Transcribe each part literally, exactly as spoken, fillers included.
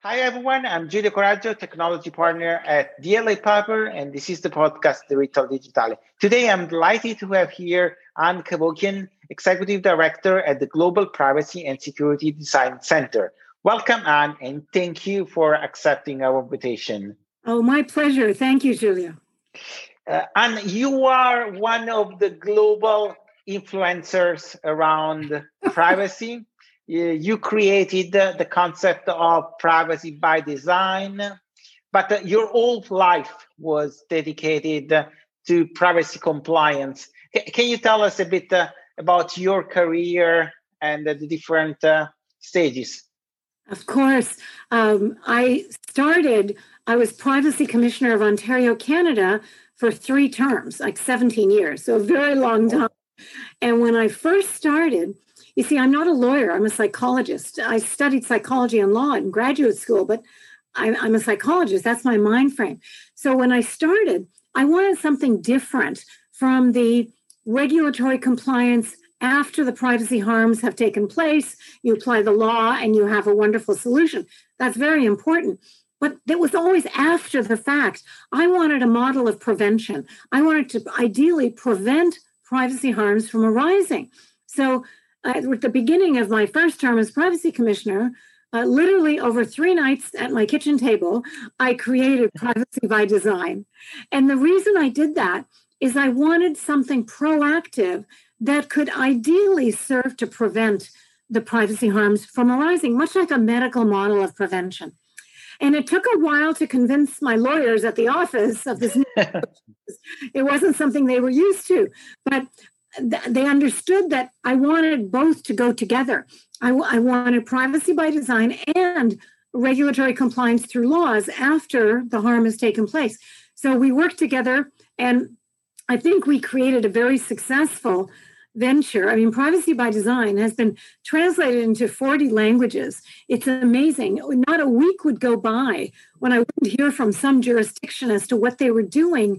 Hi, everyone. I'm Giulio Coraggio, technology partner at D L A Piper, and this is the podcast, Diritto Digitale. Today, I'm delighted to have here Anne Kevokian, Executive Director at the Global Privacy and Security Design Center. Welcome, Anne, and thank you for accepting our invitation. Oh, my pleasure. Thank you, Giulio. Uh, Anne, you are one of the global influencers around privacy. You created the concept of privacy by design, but your whole life was dedicated to privacy compliance. Can you tell us a bit about your career and the different stages? Of course. Um, I started, I was Privacy Commissioner of Ontario, Canada for three terms, like seventeen years, so a very long time. And when I first started, you see, I'm not a lawyer. I'm a psychologist. I studied psychology and law in graduate school, but I'm, I'm a psychologist. That's my mind frame. So when I started, I wanted something different from the regulatory compliance after the privacy harms have taken place. You apply the law and you have a wonderful solution. That's very important. But it was always after the fact. I wanted a model of prevention. I wanted to ideally prevent privacy harms from arising. So at the beginning of my first term as privacy commissioner, uh, literally over three nights at my kitchen table, I created privacy by design. And the reason I did that is I wanted something proactive that could ideally serve to prevent the privacy harms from arising, much like a medical model of prevention. And it took a while to convince my lawyers at the office of this. It wasn't something they were used to, but they understood that I wanted both to go together. I, I wanted privacy by design and regulatory compliance through laws after the harm has taken place. So we worked together, and I think we created a very successful venture. I mean, privacy by design has been translated into forty languages. It's amazing. Not a week would go by when I wouldn't hear from some jurisdiction as to what they were doing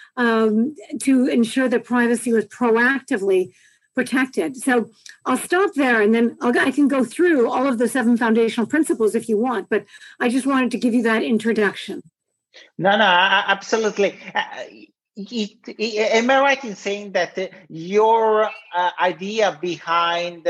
Um, to ensure that privacy was proactively protected. So I'll stop there, and then I'll, I can go through all of the seven foundational principles if you want, but I just wanted to give you that introduction. No, no, absolutely. Uh, it, it, am I right in saying that uh, your uh, idea behind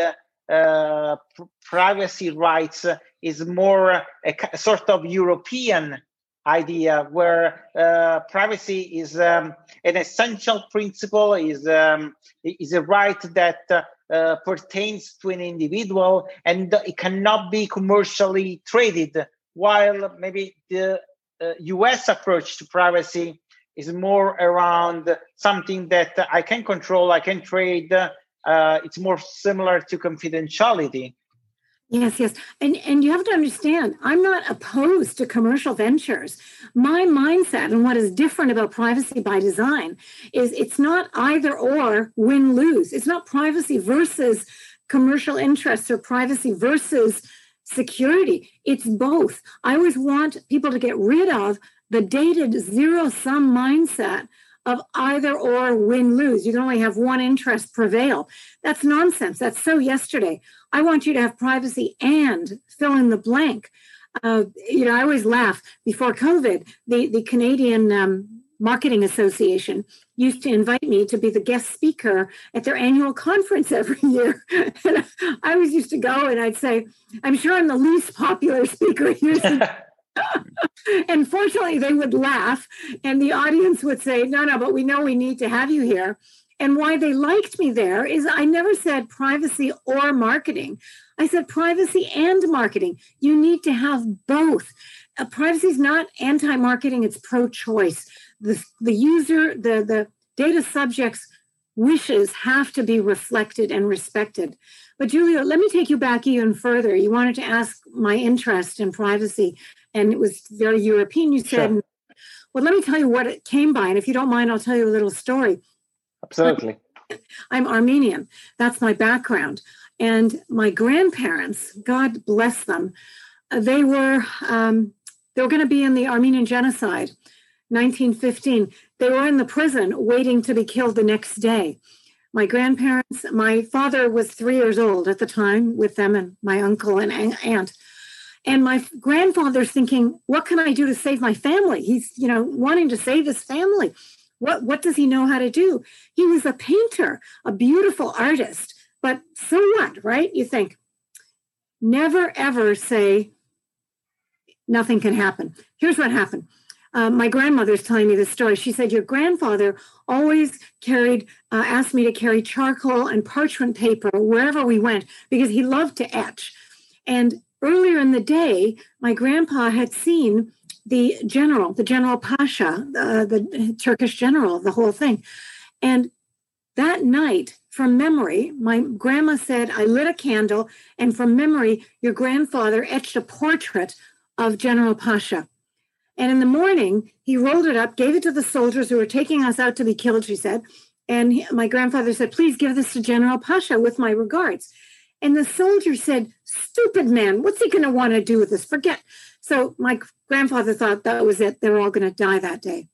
uh, pr- privacy rights uh, is more a, a sort of European idea where uh, privacy is um, an essential principle, is um, is a right that uh, uh, pertains to an individual, and it cannot be commercially traded, while maybe the uh, U S approach to privacy is more around something that I can control, I can trade. Uh, it's more similar to confidentiality. Yes, yes. And and you have to understand, I'm not opposed to commercial ventures. My mindset and what is different about privacy by design is it's not either or win-lose. It's not privacy versus commercial interests or privacy versus security. It's both. I always want people to get rid of the dated zero-sum mindset of either or win-lose. You can only have one interest prevail. That's nonsense. That's so yesterday. I want you to have privacy and fill in the blank. Uh, you know, I always laugh. Before COVID, the, the Canadian um, Marketing Association used to invite me to be the guest speaker at their annual conference every year. And I always used to go and I'd say, I'm sure I'm the least popular speaker here. And fortunately, they would laugh and the audience would say, no, no, but we know we need to have you here. And why they liked me there is I never said privacy or marketing. I said privacy and marketing. You need to have both. Uh, privacy is not anti-marketing, it's pro-choice. The, the user, the, the data subject's wishes have to be reflected and respected. But Giulio, let me take you back even further. You wanted to ask my interest in privacy, and it was very European. You said, sure. Well, let me tell you what it came by. And if you don't mind, I'll tell you a little story. Absolutely. I'm Armenian. That's my background. And my grandparents, God bless them, they were um, they were going to be in the Armenian genocide, nineteen fifteen. They were in the prison waiting to be killed the next day. My grandparents, my father was three years old at the time with them and my uncle and aunt. And my grandfather's thinking, what can I do to save my family? He's, you know, wanting to save his family. What, what does he know how to do? He was a painter, a beautiful artist. But so what, right? You think, never, ever say nothing can happen. Here's what happened. Uh, my grandmother's telling me this story. She said, your grandfather always carried, uh, asked me to carry charcoal and parchment paper wherever we went because he loved to etch. And earlier in the day, my grandpa had seen the general, the General Pasha, uh, the Turkish general, the whole thing. And that night, from memory, my grandma said, I lit a candle, and from memory, your grandfather etched a portrait of General Pasha. And in the morning, he rolled it up, gave it to the soldiers who were taking us out to be killed, she said. And he, my grandfather said, please give this to General Pasha with my regards. And the soldier said, stupid man, what's he going to want to do with this? Forget. So my grandfather thought that was it. They were all going to die that day.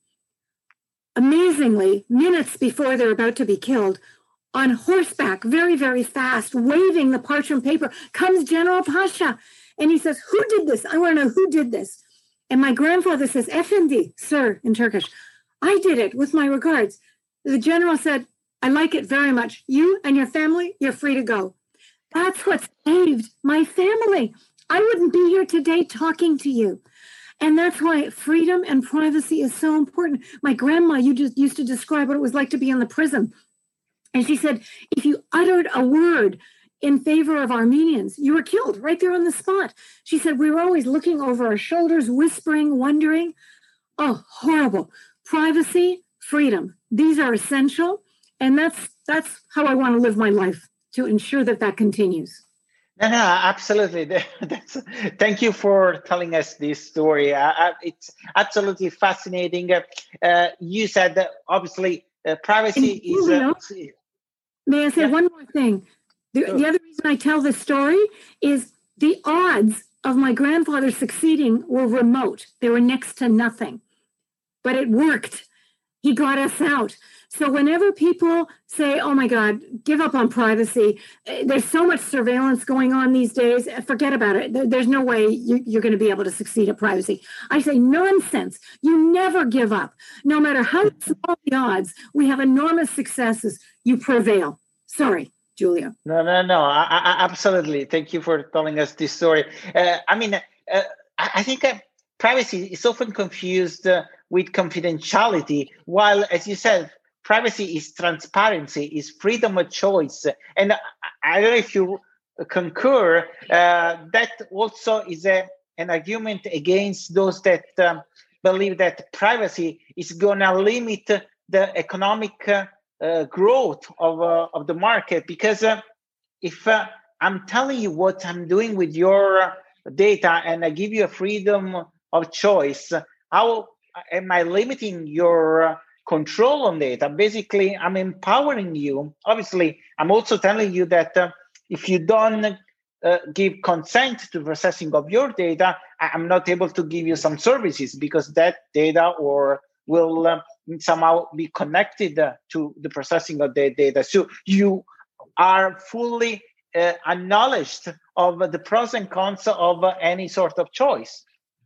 Amazingly, minutes before they're about to be killed, on horseback, very, very fast, waving the parchment paper, comes General Pasha. And he says, who did this? I want to know who did this. And my grandfather says, Efendi, sir, in Turkish, I did it with my regards. The general said, I like it very much. You and your family, you're free to go. That's what saved my family. I wouldn't be here today talking to you. And that's why freedom and privacy is so important. My grandma, you just used to describe what it was like to be in the prison. And she said, if you uttered a word in favor of Armenians, you were killed right there on the spot. She said, we were always looking over our shoulders, whispering, wondering. Oh, horrible. Privacy, freedom. These are essential. And that's that's how I want to live my life, to ensure that that continues. No, no, absolutely. That's, thank you for telling us this story. Uh, it's absolutely fascinating. Uh, you said that obviously uh, privacy and, is... Uh, may I say yeah. one more thing? The, sure. the other reason I tell this story is the odds of my grandfather succeeding were remote. They were next to nothing. But it worked. He got us out. So whenever people say, oh my God, give up on privacy, there's so much surveillance going on these days, forget about it. There's no way you're going to be able to succeed at privacy. I say nonsense. You never give up. No matter how small the odds, we have enormous successes. You prevail. Sorry, Giulio. No, no, no, I, I, absolutely. Thank you for telling us this story. Uh, I mean, uh, I think uh, privacy is often confused uh, with confidentiality, while, as you said, privacy is transparency, is freedom of choice. And I don't know if you concur, uh, that also is a, an argument against those that um, believe that privacy is going to limit the economic uh, uh, growth of, uh, of the market. Because uh, if uh, I'm telling you what I'm doing with your data and I give you a freedom of choice, how am I limiting your uh, control on data? Basically, I'm empowering you. Obviously, I'm also telling you that uh, if you don't uh, give consent to processing of your data, I'm not able to give you some services because that data or will uh, somehow be connected uh, to the processing of the data. So you are fully uh, acknowledged of the pros and cons of uh, any sort of choice.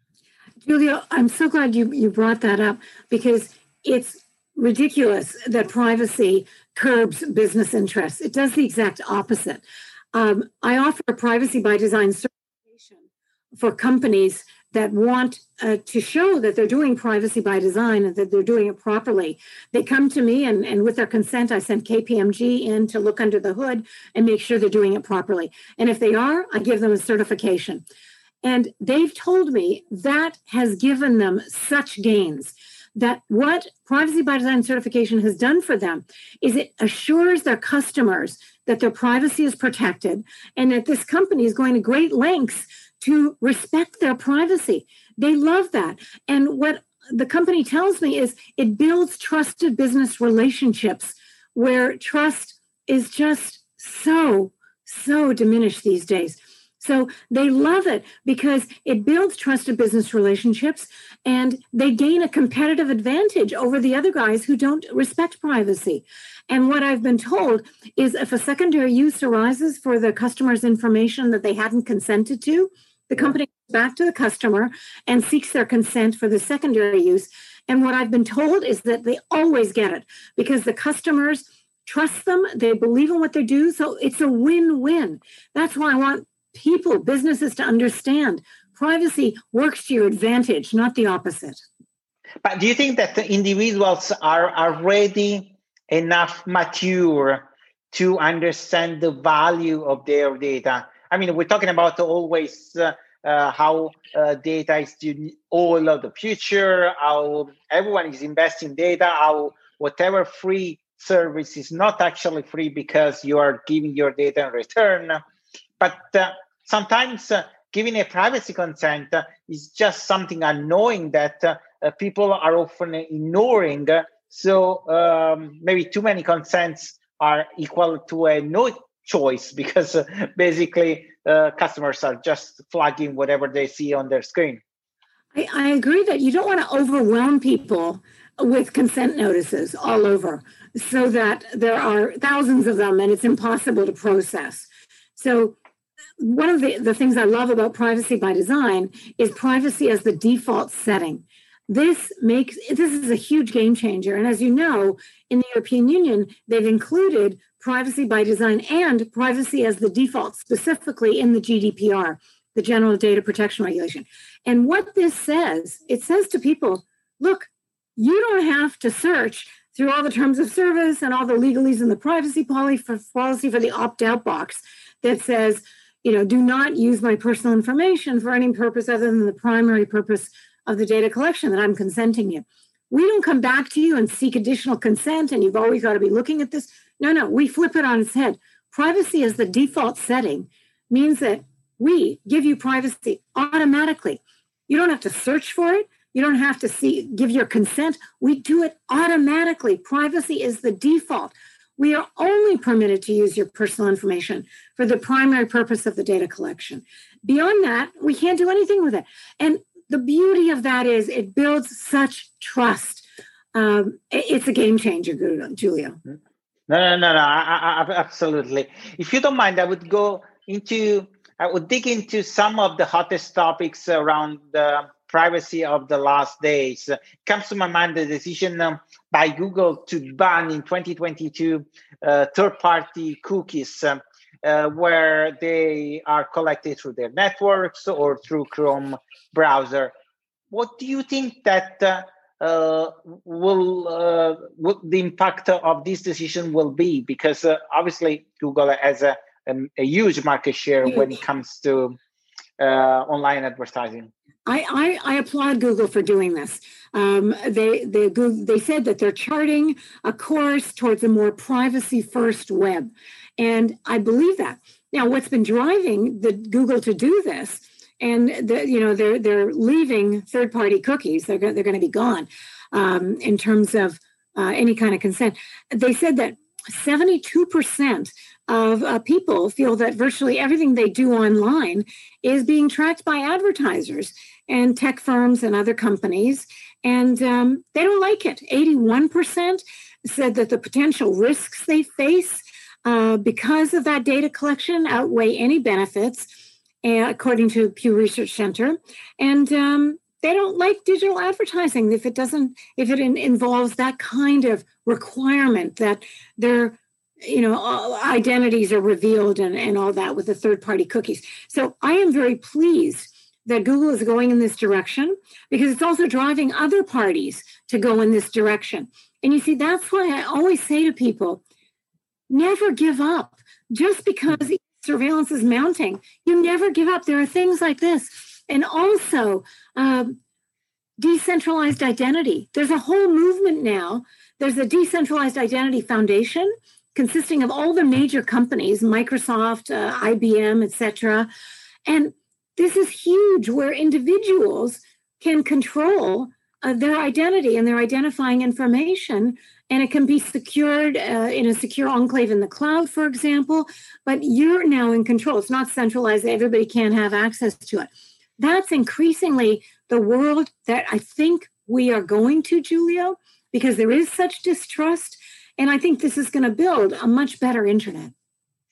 Giulio, I'm so glad you, you brought that up, because it's ridiculous that privacy curbs business interests. It does the exact opposite. Um, I offer a privacy by design certification for companies that want uh, to show that they're doing privacy by design and that they're doing it properly. They come to me, and, and with their consent, I send K P M G in to look under the hood and make sure they're doing it properly. And if they are, I give them a certification. And they've told me that has given them such gains, that what Privacy by Design certification has done for them is it assures their customers that their privacy is protected and that this company is going to great lengths to respect their privacy. They love that. And what the company tells me is it builds trusted business relationships where trust is just so, so diminished these days. So they love it because it builds trusted business relationships and they gain a competitive advantage over the other guys who don't respect privacy. And what I've been told is if a secondary use arises for the customer's information that they hadn't consented to, The company goes back to the customer and seeks their consent for the secondary use. And what I've been told is that they always get it because the customers trust them. They believe in what they do. So it's a win-win. That's why I want people, businesses to understand privacy works to your advantage, not the opposite. But do you think that the individuals are already enough mature to understand the value of their data? I mean, we're talking about always uh, uh, how uh, data is the all of the future, how everyone is investing data, how whatever free service is not actually free because you are giving your data in return. But uh, sometimes uh, giving a privacy consent uh, is just something unknowing that uh, uh, people are often ignoring. So um, maybe too many consents are equal to a no choice because uh, basically uh, customers are just flagging whatever they see on their screen. I, I agree that you don't want to overwhelm people with consent notices all over so that there are thousands of them and it's impossible to process. So one of the, the things I love about privacy by design is privacy as the default setting. This makes this is a huge game changer. And as you know, in the European Union, they've included privacy by design and privacy as the default, specifically in the G D P R, the General Data Protection Regulation. And what this says, it says to people, look, you don't have to search through all the terms of service and all the legalese in the privacy policy for, policy for the opt-out box that says, you know, do not use my personal information for any purpose other than the primary purpose of the data collection that I'm consenting you. We don't come back to you and seek additional consent and you've always got to be looking at this. No, no, we flip it on its head. Privacy as the default setting means that we give you privacy automatically. You don't have to search for it. You don't have to see, give your consent. We do it automatically. Privacy is the default. We are only permitted to use your personal information for the primary purpose of the data collection. Beyond that, we can't do anything with it. And the beauty of that is it builds such trust. Um, it's a game changer, Giulio. No, no, no, no, I, I, absolutely. If you don't mind, I would go into, I would dig into some of the hottest topics around the privacy of the last days. It comes to my mind the decision um, by Google to ban in twenty twenty-two uh, third-party cookies, um, uh, where they are collected through their networks or through Chrome browser. What do you think that uh, uh, will, uh, what the impact of this decision will be? Because uh, obviously Google has a, a, a huge market share when it comes to uh, online advertising. I, I, I applaud Google for doing this. Um, they, they, they said that they're charting a course towards a more privacy-first web. And I believe that. Now, what's been driving the Google to do this, and the, you know they're they're leaving third-party cookies. They're go- they're going to be gone um, in terms of uh, any kind of consent. They said that seventy-two percent of uh, people feel that virtually everything they do online is being tracked by advertisers and tech firms and other companies, and um, they don't like it. eighty-one percent said that the potential risks they face uh, because of that data collection outweigh any benefits, uh, according to Pew Research Center. And um, they don't like digital advertising if it doesn't, if it in, involves that kind of requirement that their, you know, identities are revealed and, and all that with the third-party cookies. So I am very pleased that Google is going in this direction because it's also driving other parties to go in this direction. And you see, that's why I always say to people, never give up. Just because surveillance is mounting, you never give up. There are things like this. And also um, decentralized identity. There's a whole movement now. There's a Decentralized Identity Foundation consisting of all the major companies, Microsoft, uh, I B M, et cetera. And this is huge, where individuals can control uh, their identity and their identifying information, and it can be secured uh, in a secure enclave in the cloud, for example, but you're now in control. It's not centralized. Everybody can have access to it. That's increasingly the world that I think we are going to, Giulio, because there is such distrust, and I think this is going to build a much better internet.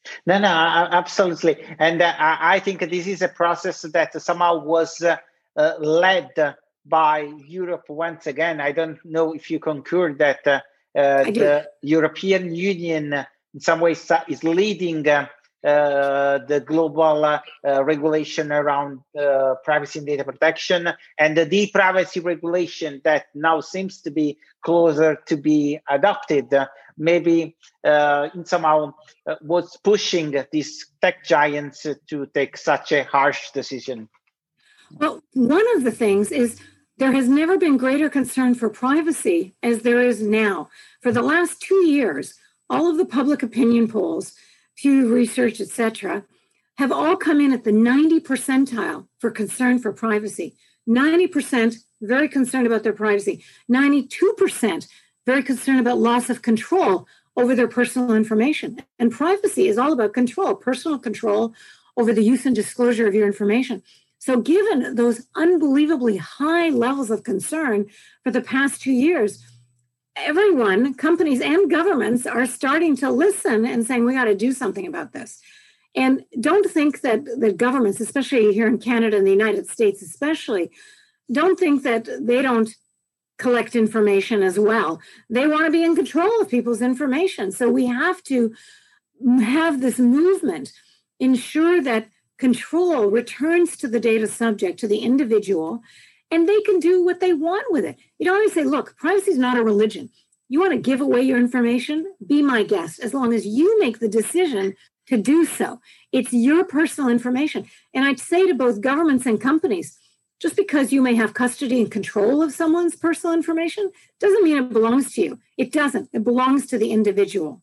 No, no, absolutely. And uh, I think this is a process that somehow was uh, uh, led by Europe once again. I don't know if you concur that uh, uh, the European Union uh, in some ways uh, is leading uh, uh, the global uh, uh, regulation around uh, privacy and data protection, and the e-privacy regulation that now seems to be closer to be adopted. Uh, maybe uh, in somehow uh, was pushing these tech giants to take such a harsh decision. Well, one of the things is there has never been greater concern for privacy as there is now. For the last two years, all of the public opinion polls, Pew Research, et cetera, have all come in at the ninety percentile for concern for privacy. ninety percent very concerned about their privacy. ninety-two percent very concerned about loss of control over their personal information. And privacy is all about control, personal control over the use and disclosure of your information. So given those unbelievably high levels of concern for the past two years, everyone, companies and governments, are starting to listen and saying, we got to do something about this. And don't think that the governments, especially here in Canada and the United States especially, don't think that they don't collect information as well. They want to be in control of people's information. So we have to have this movement, ensure that control returns to the data subject, to the individual, and they can do what they want with it. You don't always say, look, privacy is not a religion. You want to give away your information? Be my guest, as long as you make the decision to do so. It's your personal information. And I'd say to both governments and companies, just because you may have custody and control of someone's personal information doesn't mean it belongs to you. It doesn't. It belongs to the individual.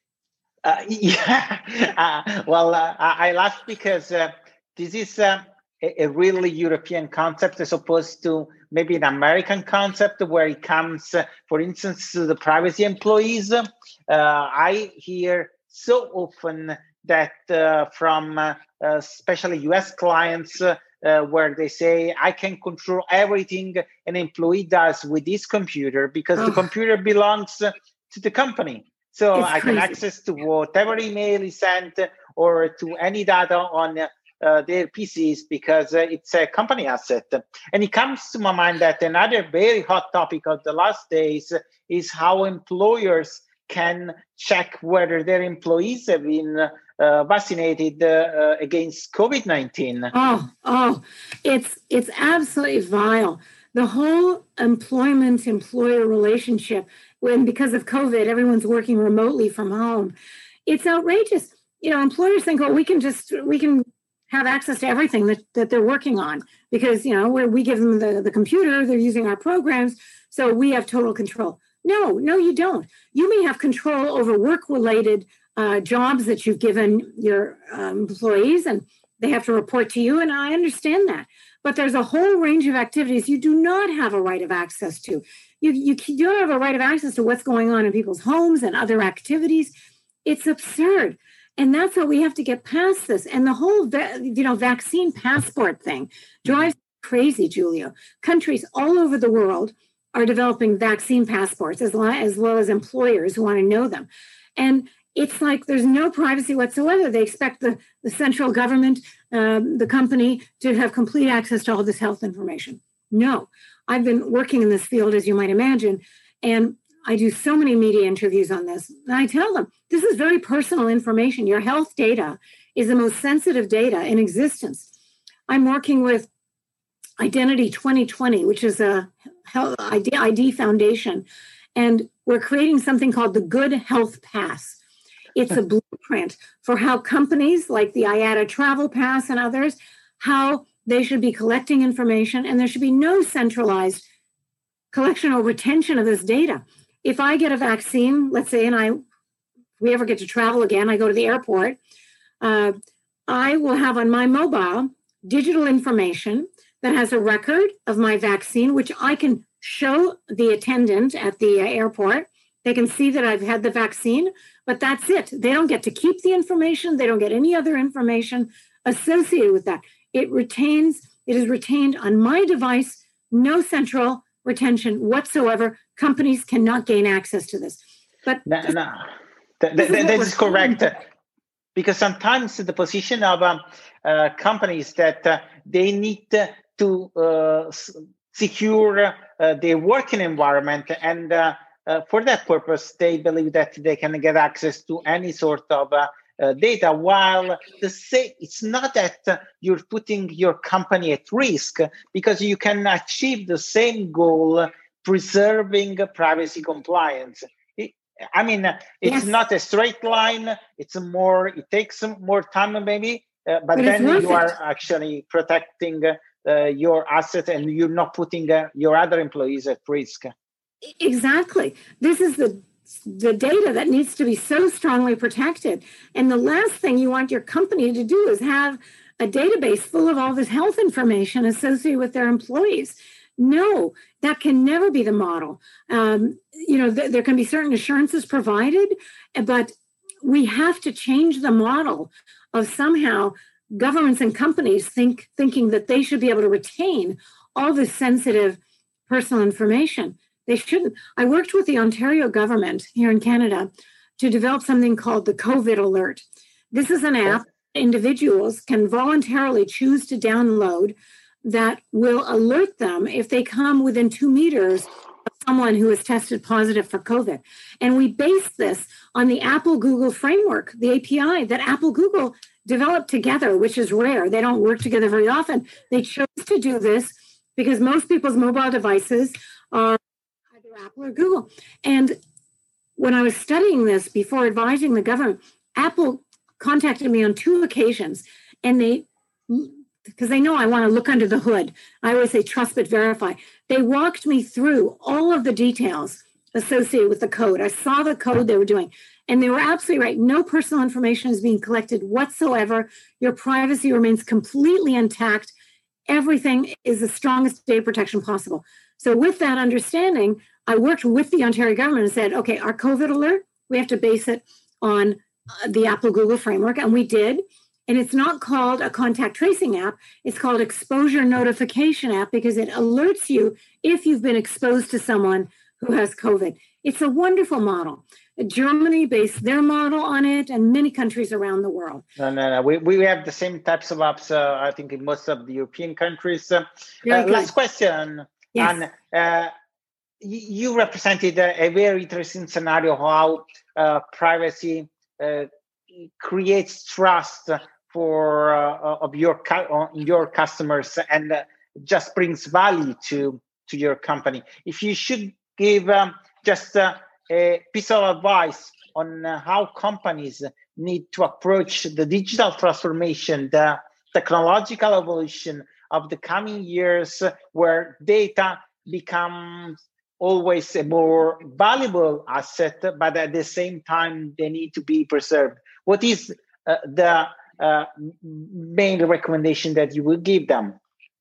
Uh, yeah. Uh, well, uh, I laugh because uh, this is uh, a, a really European concept as opposed to maybe an American concept where it comes, uh, for instance, to the privacy employees. Uh, I hear so often that uh, from uh, uh, especially U S clients uh, uh, where they say, I can control everything an employee does with this computer because oh. the computer belongs uh, to the company. So it's I can crazy. access to whatever email is sent or to any data on uh, their P Cs because uh, it's a company asset. And it comes to my mind that another very hot topic of the last days is how employers can check whether their employees have been uh, vaccinated uh, against COVID nineteen. Oh, oh, it's it's absolutely vile. The whole employment-employer relationship, when because of COVID, everyone's working remotely from home, it's outrageous. You know, employers think, oh, we can just, we can have access to everything that, that they're working on because, you know, where we give them the, the computer, they're using our programs, so we have total control. No, no, you don't. You may have control over work-related uh, jobs that you've given your um, employees, and they have to report to you, and I understand that. But there's a whole range of activities you do not have a right of access to. You, you, you don't have a right of access to what's going on in people's homes and other activities. It's absurd. And that's how we have to get past this. And the whole you know, vaccine passport thing drives me crazy, Giulio. Countries all over the world are developing vaccine passports as well, as well as employers who want to know them. And it's like there's no privacy whatsoever. They expect the, the central government, um, the company, to have complete access to all this health information. No. I've been working in this field, as you might imagine, and I do so many media interviews on this. And I tell them, this is very personal information. Your health data is the most sensitive data in existence. I'm working with Identity twenty twenty, which is a health I D, I D foundation, and we're creating something called the Good Health Pass. It's a blueprint for how companies like the I A T A Travel Pass and others, how they should be collecting information, and there should be no centralized collection or retention of this data. If I get a vaccine, let's say, and I, if we ever get to travel again, I go to the airport, uh, I will have on my mobile digital information that has a record of my vaccine, which I can show the attendant at the uh, airport. They can see that I've had the vaccine, but that's it. They don't get to keep the information. They don't get any other information associated with that. It retains, it is retained on my device, no central retention whatsoever. Companies cannot gain access to this. But no, no. That, that, that is correct. because sometimes the position of um, uh, companies that uh, they need to uh, s- secure uh, their working environment, and uh, uh, for that purpose, they believe that they can get access to any sort of uh, uh, data. While the say, it's not that uh, you're putting your company at risk, because you can achieve the same goal, preserving privacy compliance. I mean, it's Yes. not a straight line. It's more, it takes some more time maybe, uh, but, But it's then worth you are it. actually protecting uh, your asset, and you're not putting uh, your other employees at risk. Exactly. This is the the data that needs to be so strongly protected. And the last thing you want your company to do is have a database full of all this health information associated with their employees. No, that can never be the model. Um, you know, th- there can be certain assurances provided, but we have to change the model of somehow governments and companies think thinking that they should be able to retain all this sensitive personal information. They shouldn't. I worked with the Ontario government here in Canada to develop something called the COVID Alert. This is an app individuals can voluntarily choose to download that will alert them if they come within two meters of someone who is tested positive for COVID. And we base this on the Apple Google framework, the A P I that Apple Google developed together, which is rare. They don't work together very often. They chose to do this because most people's mobile devices are either Apple or Google. And when I was studying this before advising the government, Apple contacted me on two occasions, and they, because they know I want to look under the hood. I always say trust but verify. They walked me through all of the details associated with the code. I saw the code they were doing, and they were absolutely right. No personal information is being collected whatsoever. Your privacy remains completely intact. Everything is the strongest data protection possible. So with that understanding, I worked with the Ontario government and said, okay, our COVID alert, we have to base it on uh, the Apple Google framework, and we did. And it's not called a contact tracing app. It's called exposure notification app because it alerts you if you've been exposed to someone who has COVID. It's a wonderful model. Germany based their model on it, and many countries around the world. No, no, no. We, we have the same types of apps, uh, I think, in most of the European countries. Uh, uh, last question. Yes. And, uh, you represented a, a very interesting scenario how uh, privacy uh, creates trust for uh, of your cu- your customers and uh, just brings value to to your company. If you should give um, just uh, a piece of advice on uh, how companies need to approach the digital transformation, the technological evolution of the coming years, where data becomes always a more valuable asset, but at the same time, they need to be preserved. What is uh, the uh, main recommendation that you would give them?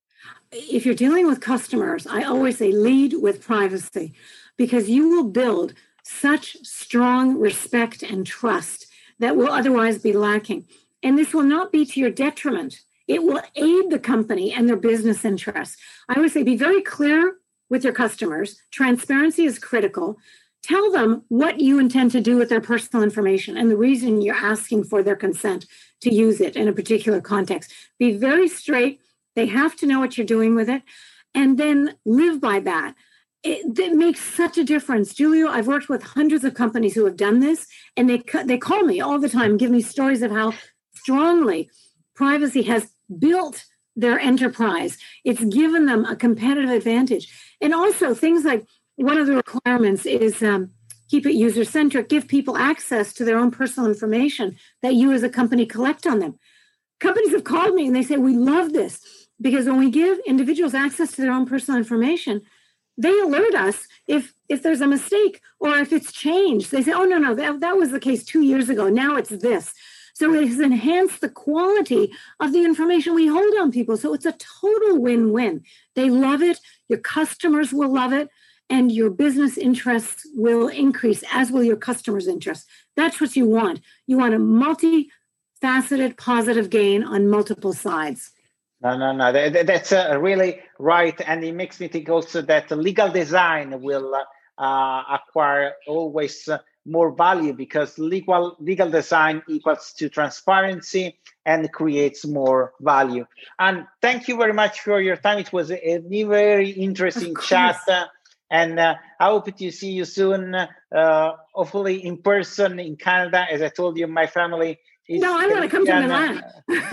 If you're dealing with customers, I always say lead with privacy, because you will build such strong respect and trust that will otherwise be lacking. And this will not be to your detriment. It will aid the company and their business interests. I always say be very clear with your customers. Transparency is critical. Tell them what you intend to do with their personal information and the reason you're asking for their consent to use it in a particular context. Be very straight. They have to know what you're doing with it, and then live by that. It, it makes such a difference. Giulio, I've worked with hundreds of companies who have done this, and they they call me all the time, give me stories of how strongly privacy has built their enterprise. It's given them a competitive advantage. And also things like one of the requirements is um, keep it user-centric, give people access to their own personal information that you as a company collect on them. Companies have called me and they say, we love this because when we give individuals access to their own personal information, they alert us if if there's a mistake or if it's changed. They say, oh, no, no, that, that was the case two years ago. Now it's this. So it has enhanced the quality of the information we hold on people. So it's a total win-win. They love it. Your customers will love it. And your business interests will increase, as will your customers' interests. That's what you want. You want a multi-faceted positive gain on multiple sides. No, no, no. That's uh, really right. And it makes me think also that legal design will uh, acquire always more value, because legal legal design equals to transparency and creates more value. And thank you very much for your time. It was a, a very interesting chat. Uh, and uh, I hope to see you soon, uh, hopefully in person in Canada. As I told you, my family is No, I want to come to Milan.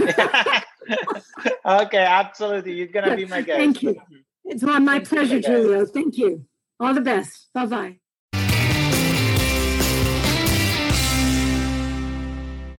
Okay, absolutely. You're going to be my guest. Thank you. It's my, my pleasure, Giulio. Thank you. All the best. Bye-bye.